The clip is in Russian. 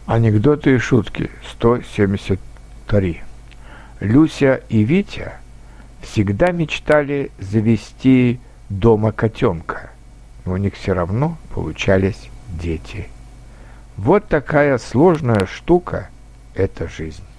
Анекдоты и шутки 173. Люся и Витя всегда мечтали завести дома котенка, но у них все равно получались дети. Вот такая сложная штука – это жизнь.